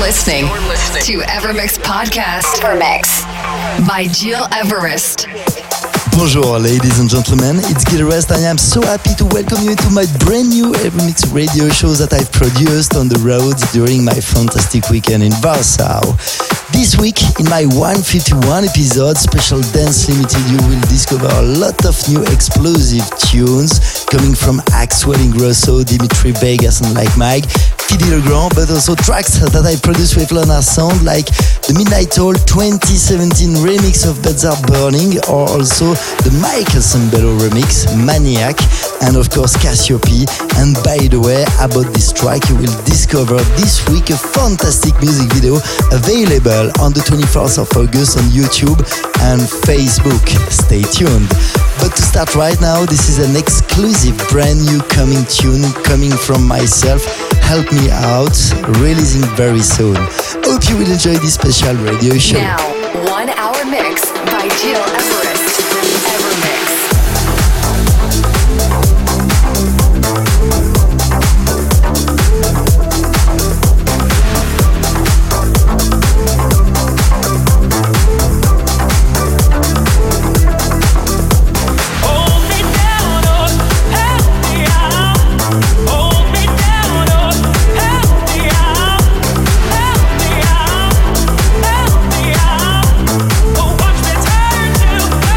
listening to Evermix Podcast. Evermix by Gil Everest. Bonjour ladies and gentlemen, it's Gil Everest. I am so happy to welcome you to my brand new Evermix radio show that I've produced on the road during my fantastic weekend in Warsaw. This week, in my 151 episode, Special Dance Limited, you will discover a lot of new explosive tunes coming from Axwell Ingrosso, Dimitri Vegas and Like Mike, Philly Legrand, but also tracks that I produced with Leonard Sound, like the Midnight Hall 2017 remix of Beds Are Burning, or also the Michael Sambello remix, Maniac, and of course Cassiope. And by the way, about this track, you will discover this week a fantastic music video available on the 24th of August on YouTube and Facebook. Stay tuned. But to start right now, this is an exclusive brand new coming tune coming from myself, Help Me Out, releasing very soon. Hope you will enjoy this special radio show. Now, 1 hour mix by Gil Everest. Evermix. Watch me turn to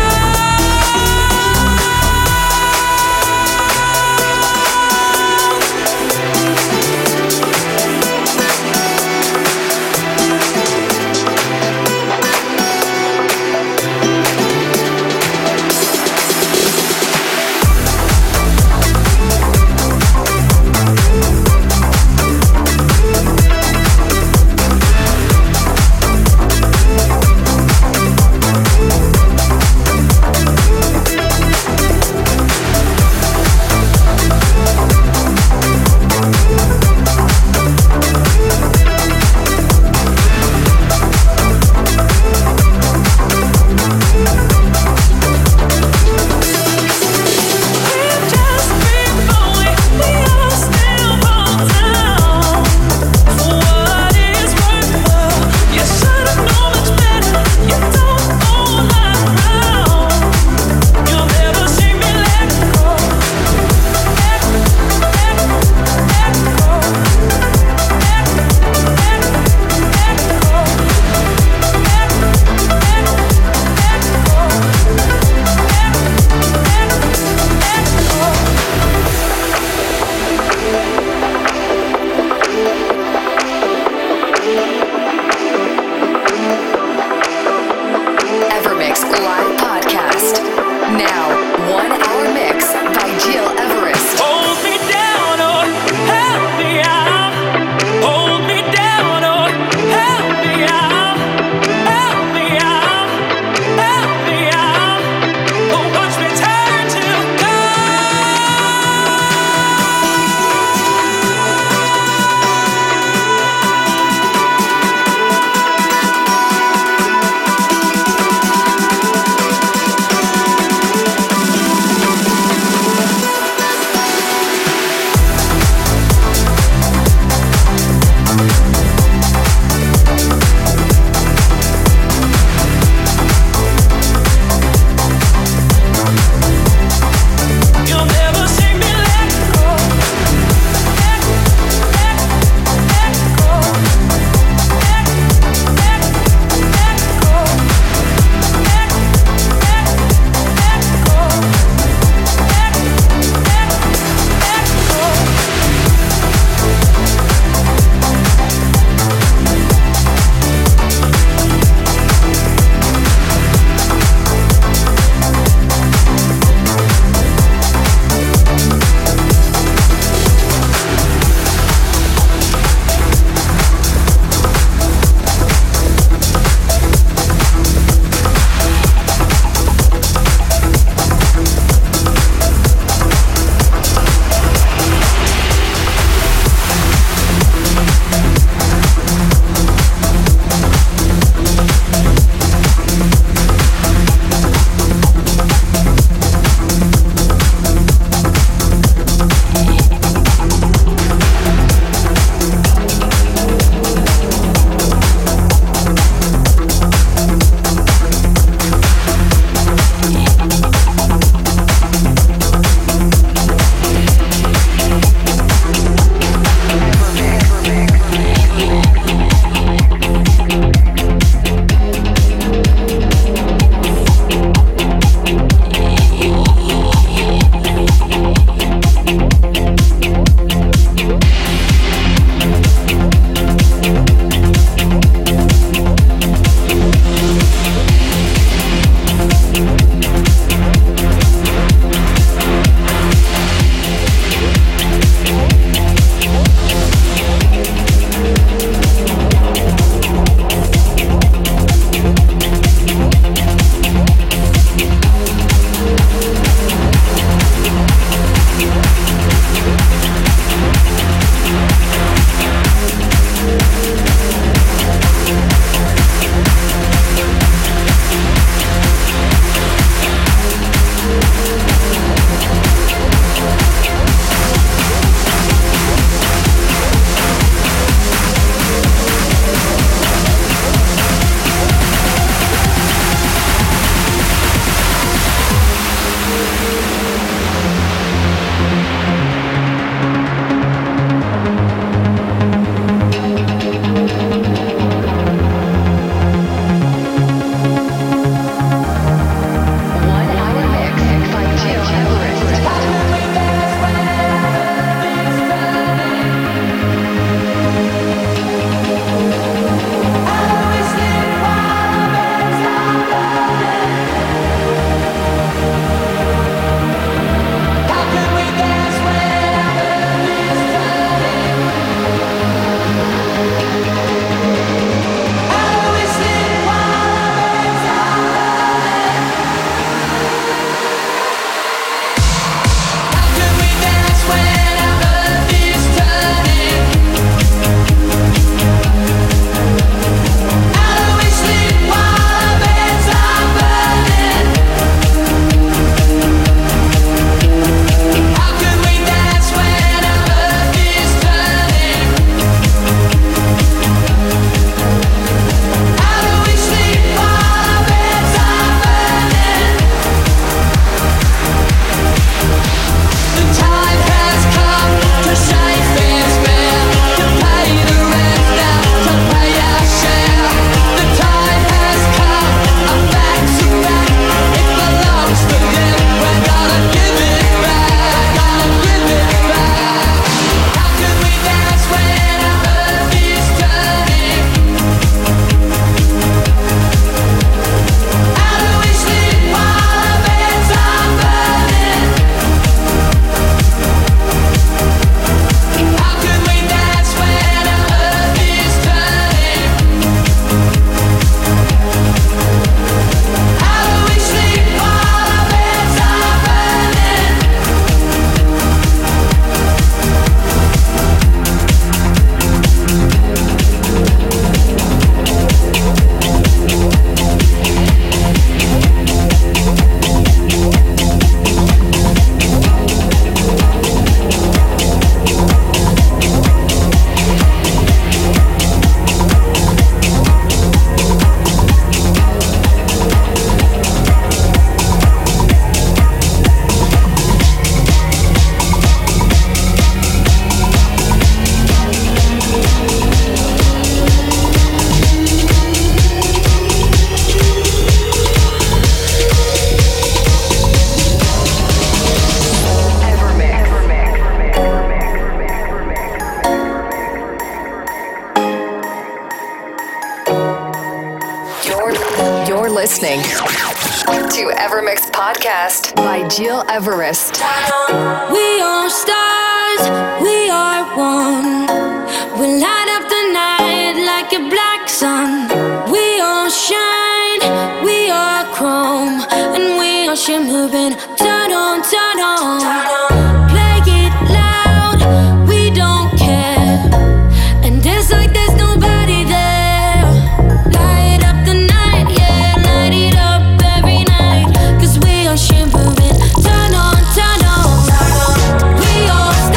listening to Evermix Podcast by Gil Everest. We are stars, we are one. We light up the night like a black sun. We all shine, we are chrome, and we are shimmering. Turn on, turn on. Play it loud, we don't care. And dance like there's nobody there. Light up the night, yeah, light it up every night. 'Cause we are shimmering. Turn on, turn on. We all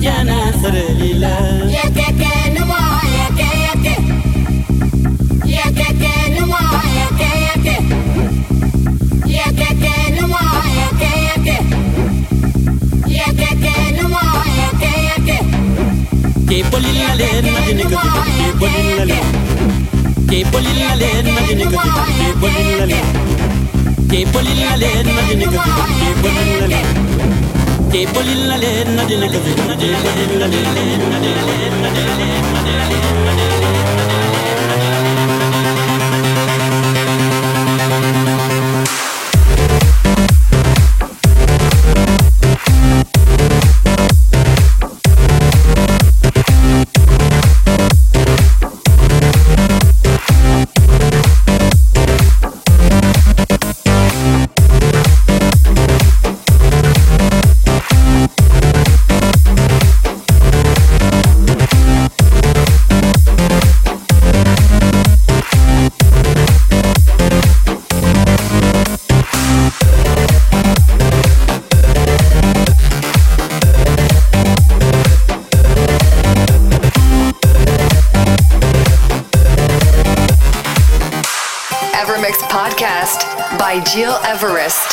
jana sarelila Yekeke nuwa yeke Yekeke nuwa yeke Yekeke nuwa yeke Yekeke nuwa yeke ke polila le madine ko ke polila le ke polila le madine ko ke polila le ke polila le madine ko ke polila le ke polila le madine ko ke polila Evermix Podcast by Gil Everest.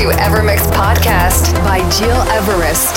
to Evermix Podcast by Gil Everest.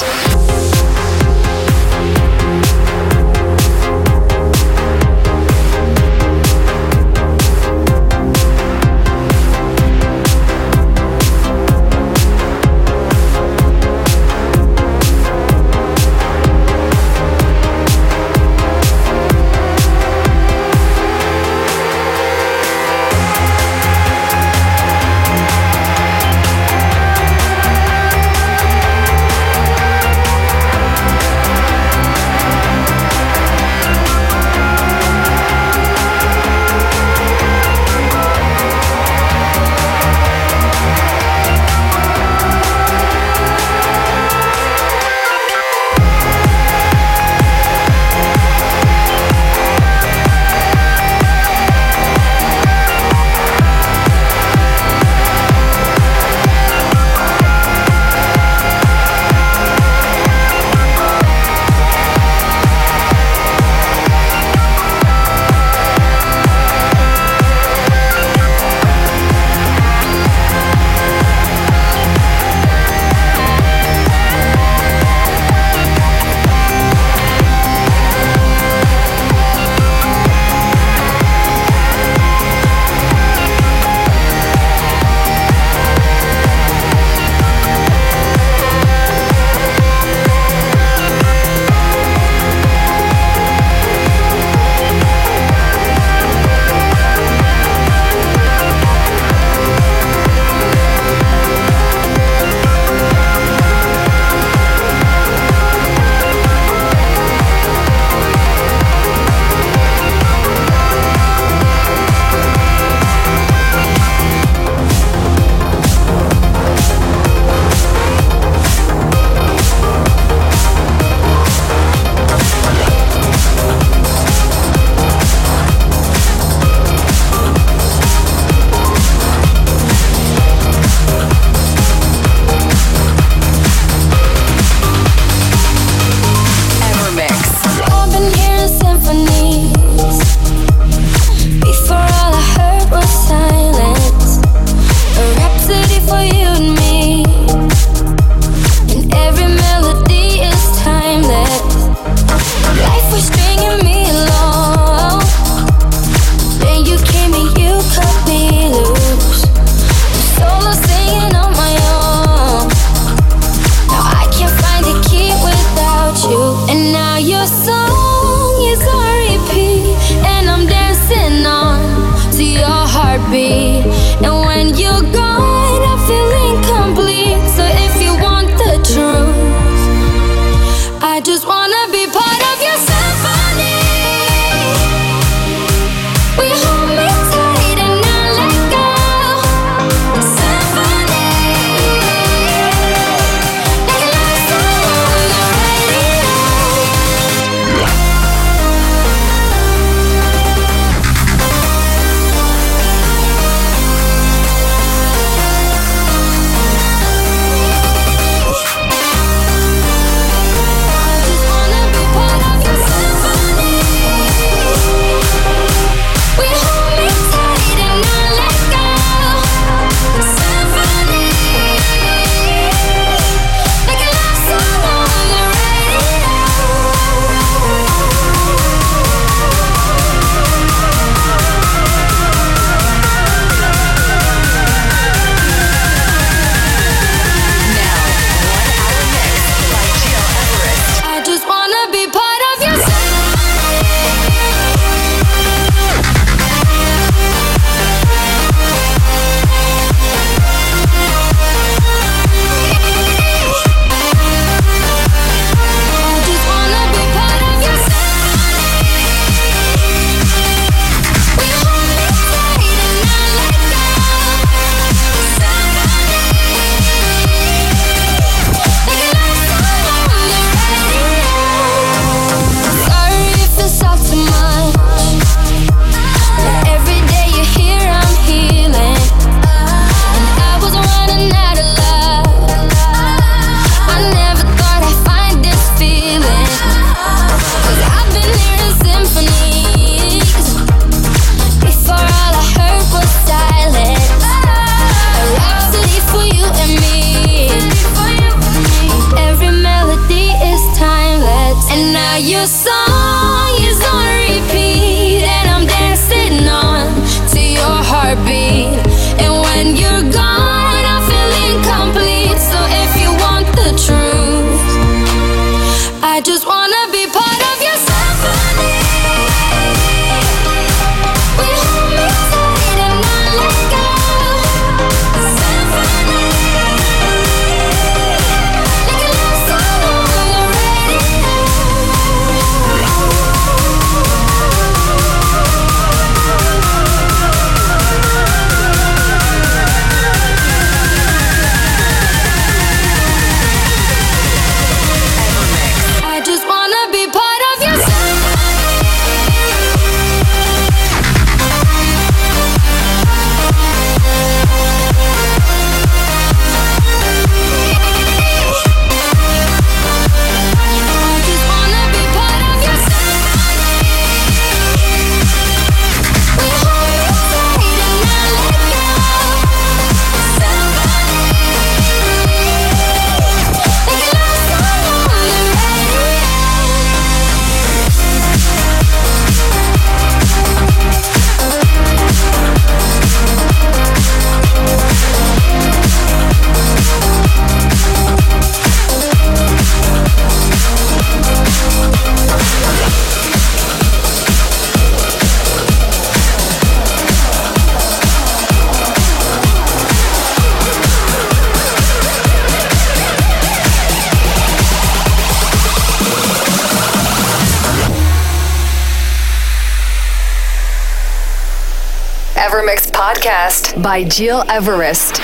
Podcast by Gil Everest.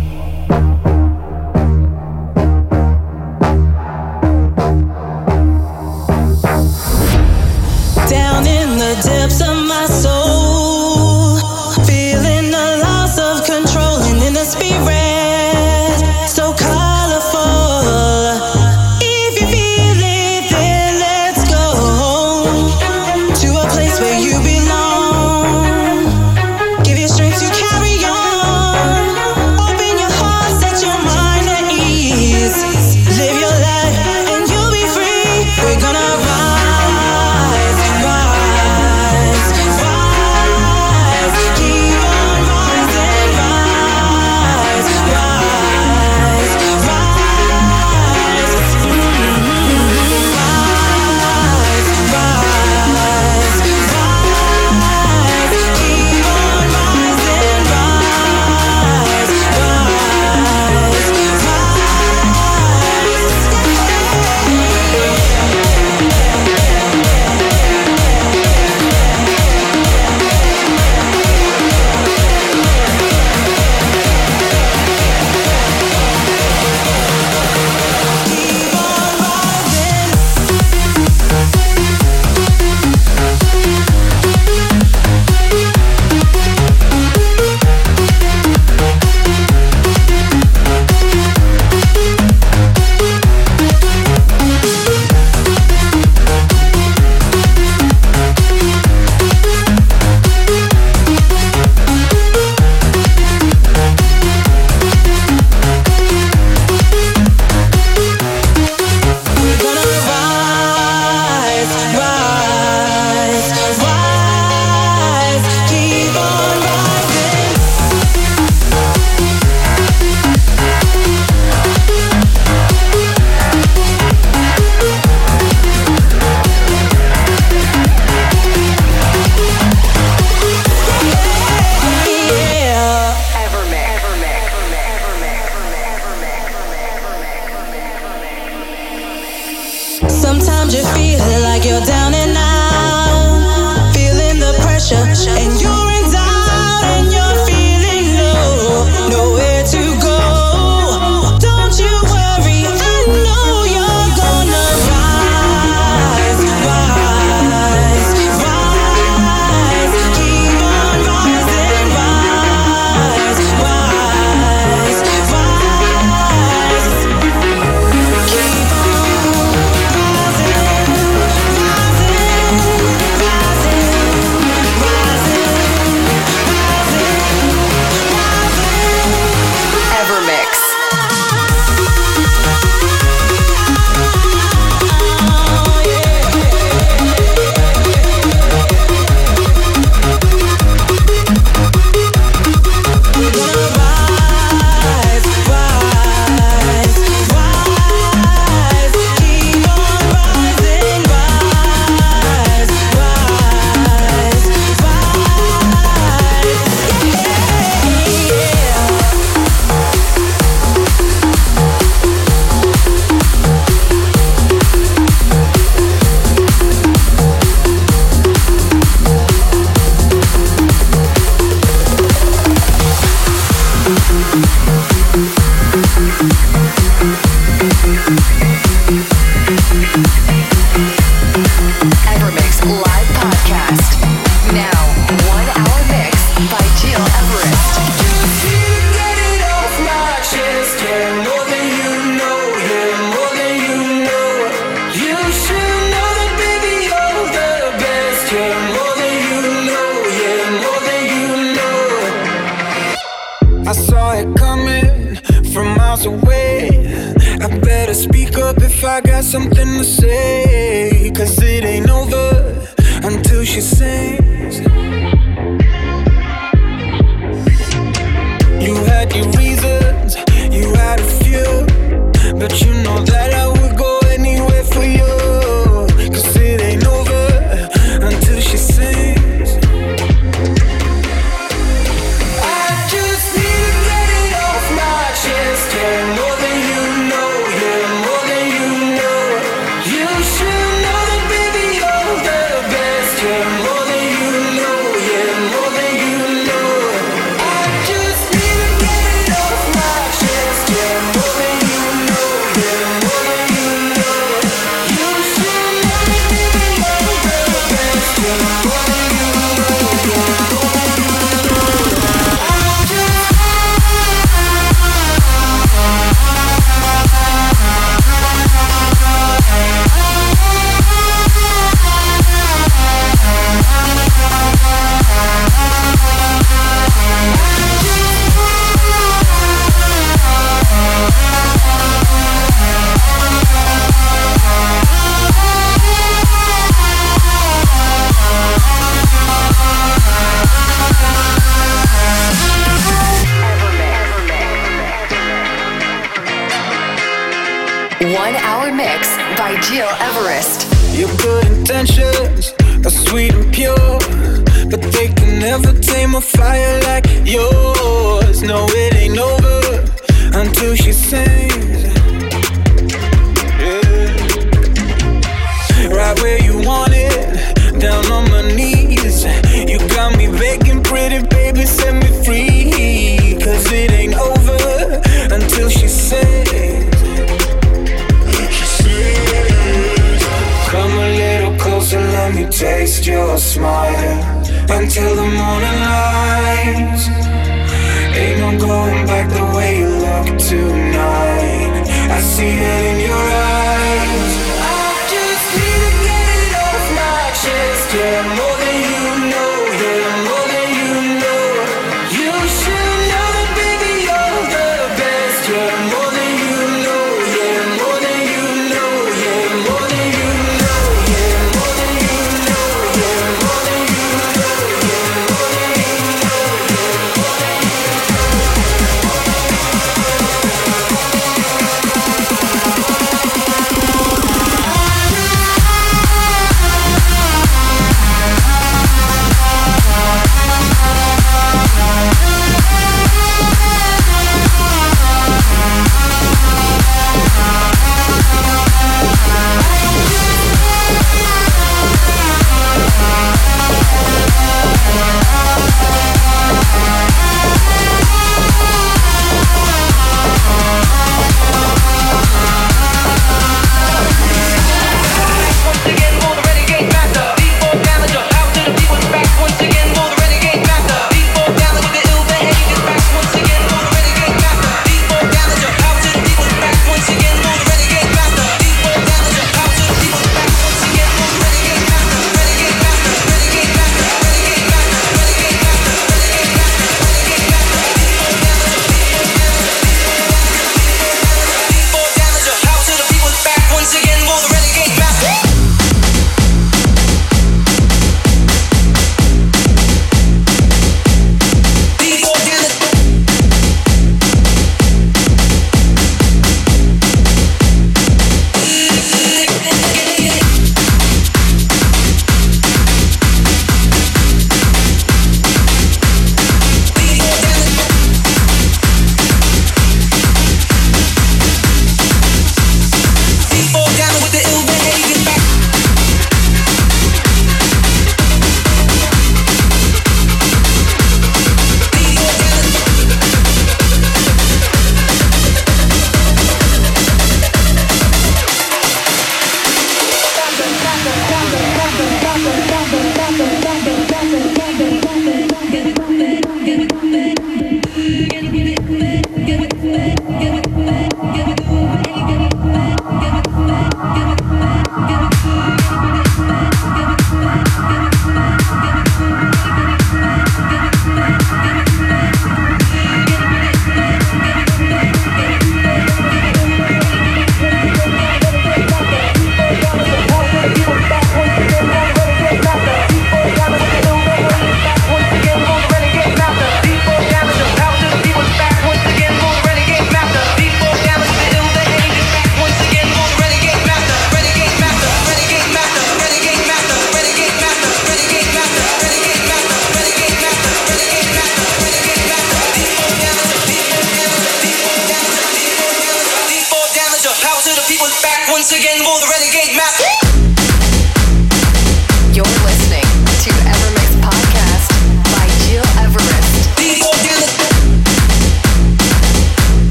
Down in the depths of my soul, feeling the loss of control, and in the spirit, so colorful. If you feel it, then let's go to a place where you belong. Give you strength to carry on. Open your heart, set your mind at ease. Live your life and you'll be free. We're gonna rise. Sometimes you feel like you're down and out, feeling the pressure, and you're in doubt, and you're feeling low, nowhere to go. Don't you worry, I know you're gonna rise, rise, rise. Keep on rising, rise, rise, rise. Keep on. I saw it coming from miles away. I better speak up if I got something to say, 'cause it ain't over until she sings. You had your reasons, you had a few, but you know that I would go anywhere for you, 'cause it ain't over until she sings. I just need to get it off my chest, yeah, more than you know, yeah, more than you know. You should know that, baby, you're the best, yeah, more than you know, yeah, more than you know. I 1 hour mix by Gil Everest. Your good intentions are sweet and pure, but they can never tame a fire like yours. No, it ain't over until she sings. Yeah. Right where you want it, down on my knees. You got me begging, pretty baby, set me free. Cause it ain't over until she sings. Come a little closer, let me taste your smile until the morning lights. Ain't no going back the way you look tonight. I see it in your eyes. I just need to get it off my chest. Yeah, more than you know. Yeah, more than you know. You should know that, baby, you're the best. Yeah, more than you know. Yeah, more than you know. Yeah, more than you know. Yeah, more than you know. Yeah, more than you know. Yeah, more than you know. Yeah, more than you know.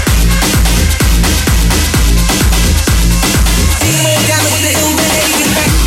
Down with the ill behavior back.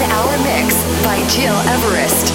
1 hour mix by Gil Everest.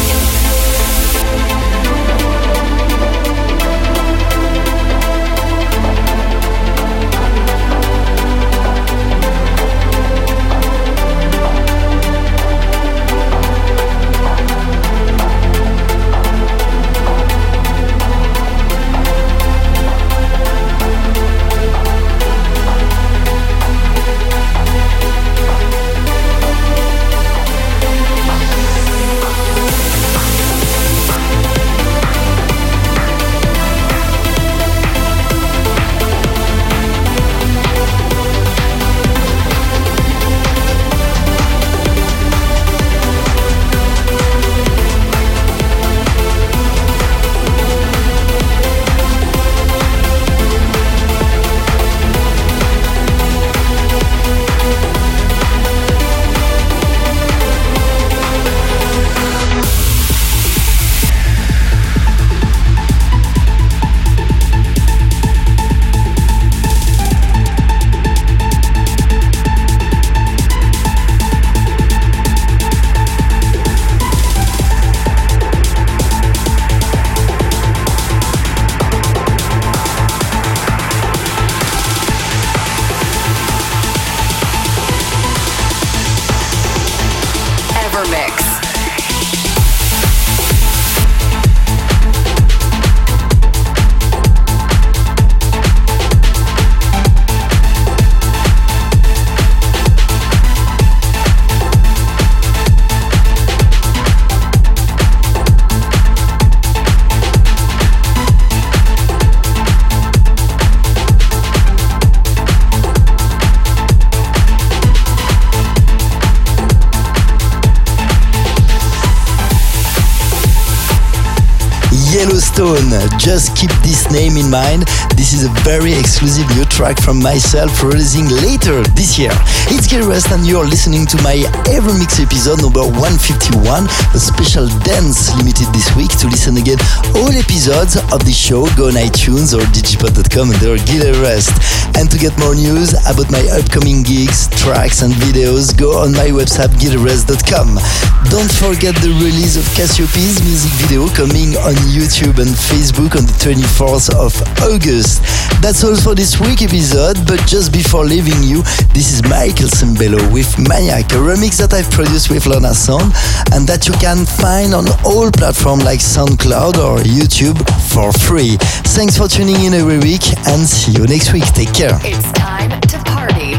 Yellowstone, just keep this name in mind. This is a very exclusive new track from myself releasing later this year. It's Gil Everest and you're listening to my Evermix episode number 151, a special dance limited this week. To listen again all episodes of the show, go on iTunes or digipod.com under Gil Everest. And to get more news about my upcoming gigs, tracks and videos, go on my website gileverest.com. Don't forget the release of Cassiopeia's music video coming on YouTube and Facebook on the 24th of August. That's all for this week episode, but just before leaving you, this is Michael Sembello with Maniac, a remix that I've produced with Lorna Sound and that you can find on all platforms like SoundCloud or YouTube for free. Thanks for tuning in every week and see you next week. Take care. It's time to party.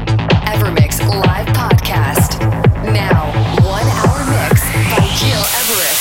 Evermix Live Podcast. Now, 1 hour mix by Gil Everest.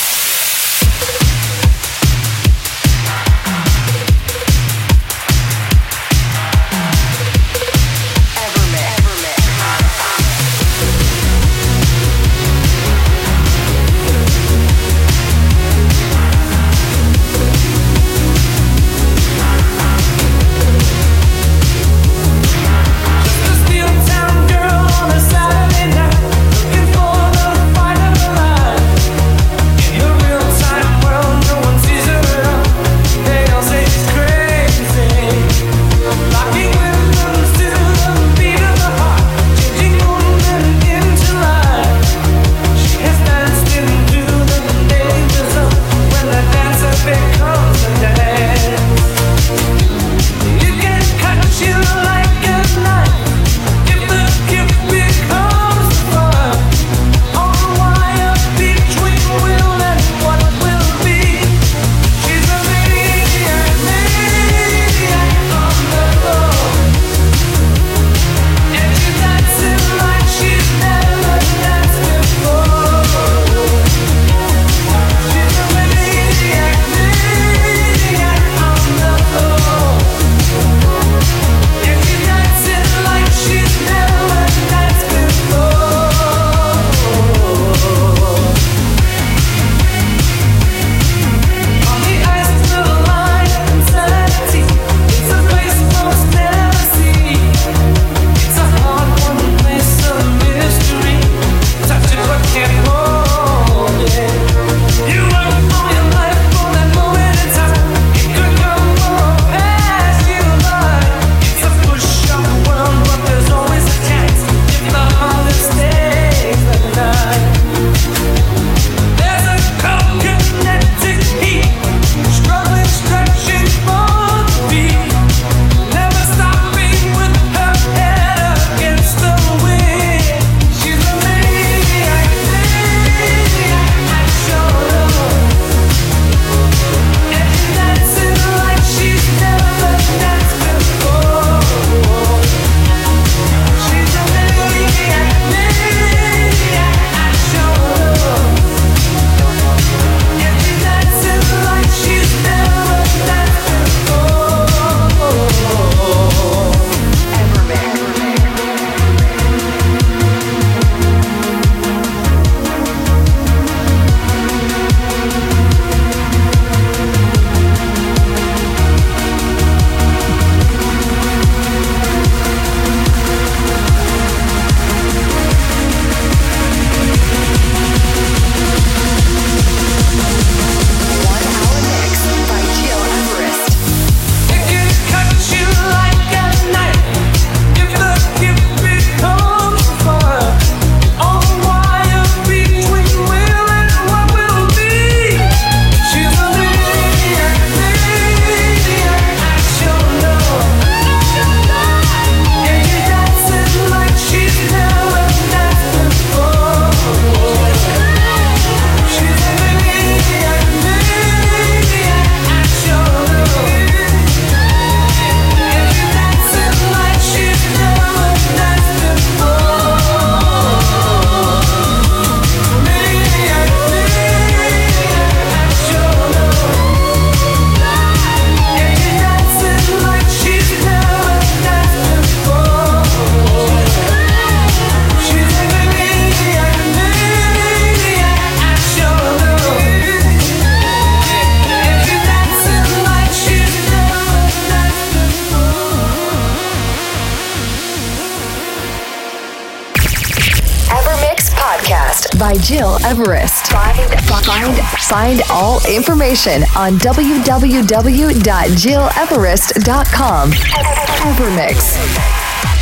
by Gil Everest. Find all information on www.gileverest.com. Evermix.